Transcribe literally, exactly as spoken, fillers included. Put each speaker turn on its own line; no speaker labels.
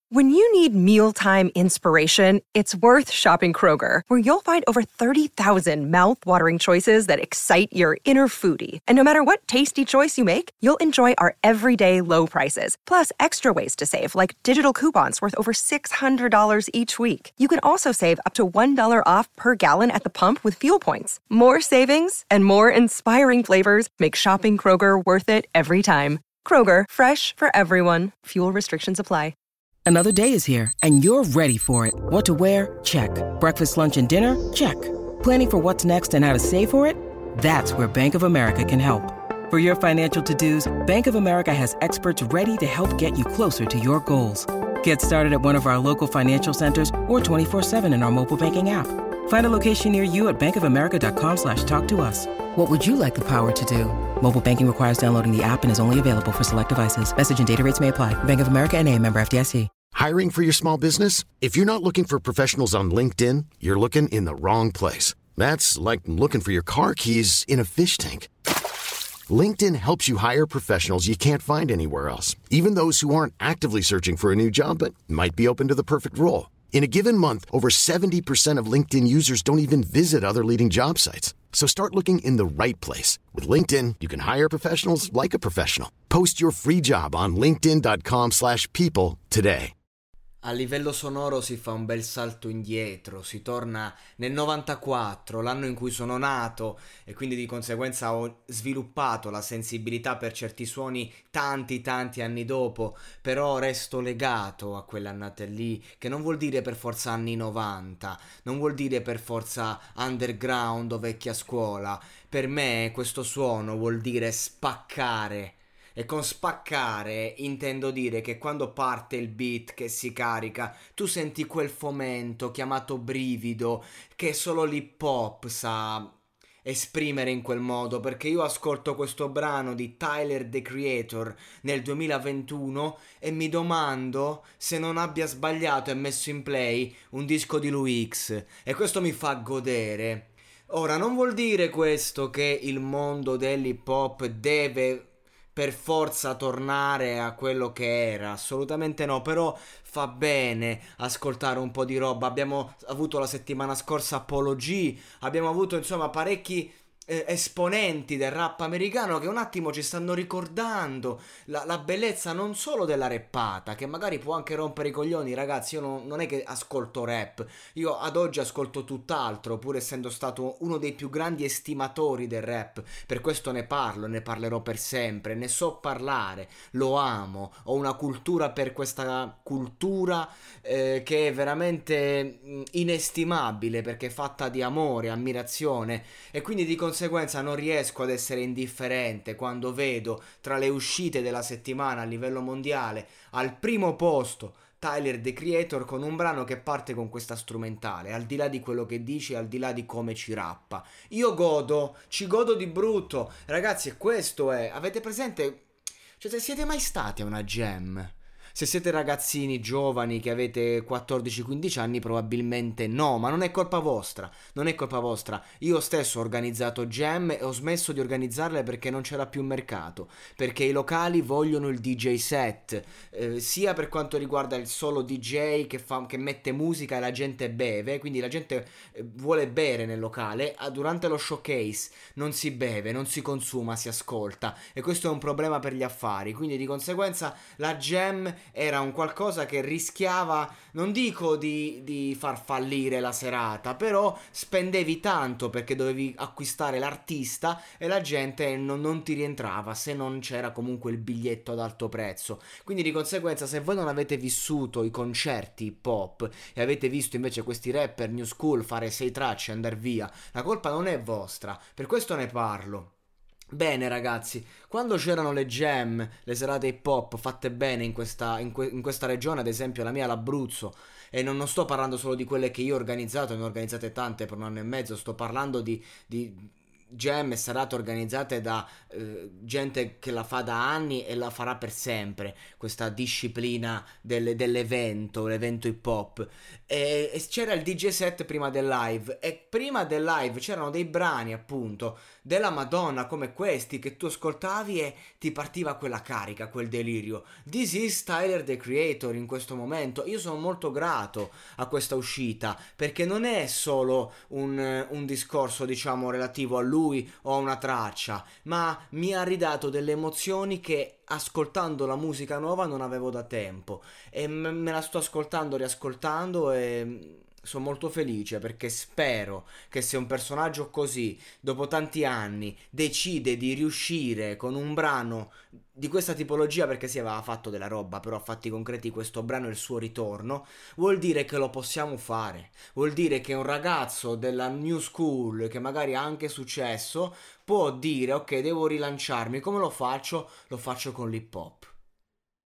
When you need mealtime inspiration, it's worth shopping Kroger, where you'll find over thirty thousand mouth-watering choices that excite your inner foodie. And no matter what tasty choice you make, you'll enjoy our everyday low prices, plus extra ways to save, like digital coupons worth over six hundred dollars each week. You can also save up to one dollar off per gallon at the pump with fuel points. More savings and more inspiring flavors make shopping Kroger worth it every time. Kroger, fresh for everyone. Fuel restrictions apply.
Another day is here, and you're ready for it. What to wear? Check. Breakfast, lunch, and dinner? Check. Planning for what's next and how to save for it? That's where Bank of America can help. For your financial to-dos, Bank of America has experts ready to help get you closer to your goals. Get started at one of our local financial centers or twenty-four seven in our mobile banking app. Find a location near you at bankofamerica.com slash talk to us. What would you like the power to do? Mobile banking requires downloading the app and is only available for select devices. Message and data rates may apply. Bank of America N A, member F D I C.
Hiring for your small business? If you're not looking for professionals on LinkedIn, you're looking in the wrong place. That's like looking for your car keys in a fish tank. LinkedIn helps you hire professionals you can't find anywhere else, even those who aren't actively searching for a new job but might be open to the perfect role. In a given month, over seventy percent of LinkedIn users don't even visit other leading job sites. So start looking in the right place. With LinkedIn, you can hire professionals like a professional. Post your free job on linkedin.com slash people today.
A livello sonoro si fa un bel salto indietro, si torna nel novantaquattro, l'anno in cui sono nato, e quindi di conseguenza ho sviluppato la sensibilità per certi suoni tanti tanti anni dopo, però resto legato a quell'annata lì, che non vuol dire per forza anni novanta, non vuol dire per forza underground o vecchia scuola. Per me questo suono vuol dire spaccare. E con spaccare intendo dire che quando parte il beat che si carica, tu senti quel fomento chiamato brivido che solo l'hip hop sa esprimere in quel modo, perché io ascolto questo brano di Tyler, The Creator, nel duemilaventuno e mi domando se non abbia sbagliato e messo in play un disco di Lui X, e questo mi fa godere. Ora, non vuol dire questo che il mondo dell'hip hop deve per forza tornare a quello che era, assolutamente no, però fa bene ascoltare un po' di roba. Abbiamo avuto la settimana scorsa Apollo G, abbiamo avuto insomma parecchi eh, esponenti del rap americano che un attimo ci stanno ricordando la, la bellezza non solo della rappata, che magari può anche rompere i coglioni, ragazzi. Io non, non è che ascolto rap, io ad oggi ascolto tutt'altro, pur essendo stato uno dei più grandi estimatori del rap. Per questo ne parlo, ne parlerò per sempre, ne so parlare, lo amo, ho una cultura per questa cultura eh, che è veramente mh, inestimabile, perché è fatta di amore, ammirazione, e quindi di conseguenza non riesco ad essere indifferente quando vedo tra le uscite della settimana a livello mondiale al primo posto Tyler, The Creator, con un brano che parte con questa strumentale, al di là di quello che dice, al di là di come ci rappa. Io godo, ci godo di brutto, ragazzi, e questo è, avete presente, cioè se siete mai stati a una jam? Se siete ragazzini giovani che avete quattordici quindici anni probabilmente no, ma non è colpa vostra, non è colpa vostra. Io stesso ho organizzato jam e ho smesso di organizzarle perché non c'era più mercato, perché i locali vogliono il D J set, eh, sia per quanto riguarda il solo D J che, fa, che mette musica e la gente beve, quindi la gente eh, vuole bere nel locale, ah, durante lo showcase non si beve, non si consuma, si ascolta, e questo è un problema per gli affari, quindi di conseguenza la jam era un qualcosa che rischiava, non dico di, di far fallire la serata, però spendevi tanto perché dovevi acquistare l'artista e la gente non, non ti rientrava se non c'era comunque il biglietto ad alto prezzo. Quindi di conseguenza, se voi non avete vissuto i concerti hip hop e avete visto invece questi rapper new school fare sei tracce e andar via, la colpa non è vostra, per questo ne parlo. Bene ragazzi, quando c'erano le jam, le serate hip hop fatte bene in questa, in, que- in questa regione, ad esempio la mia, l'Abruzzo, e non, non sto parlando solo di quelle che io ho organizzato, ne ho organizzate tante per un anno e mezzo, sto parlando di, di jam e serate organizzate da eh, gente che la fa da anni e la farà per sempre, questa disciplina del- dell'evento, l'evento hip hop. E, e c'era il D J set prima del live, e prima del live c'erano dei brani appunto della Madonna come questi che tu ascoltavi e ti partiva quella carica, quel delirio. This is Tyler the Creator in questo momento. Io sono molto grato a questa uscita, perché non è solo un, un discorso diciamo relativo a lui o a una traccia, ma mi ha ridato delle emozioni che ascoltando la musica nuova non avevo da tempo, e me me la sto ascoltando, riascoltando, e sono molto felice perché spero che se un personaggio così dopo tanti anni decide di riuscire con un brano di questa tipologia, perché si aveva fatto della roba, però a fatti concreti questo brano è il suo ritorno, vuol dire che lo possiamo fare, vuol dire che un ragazzo della new school che magari ha anche successo può dire ok, devo rilanciarmi, come lo faccio? Lo faccio con l'hip hop.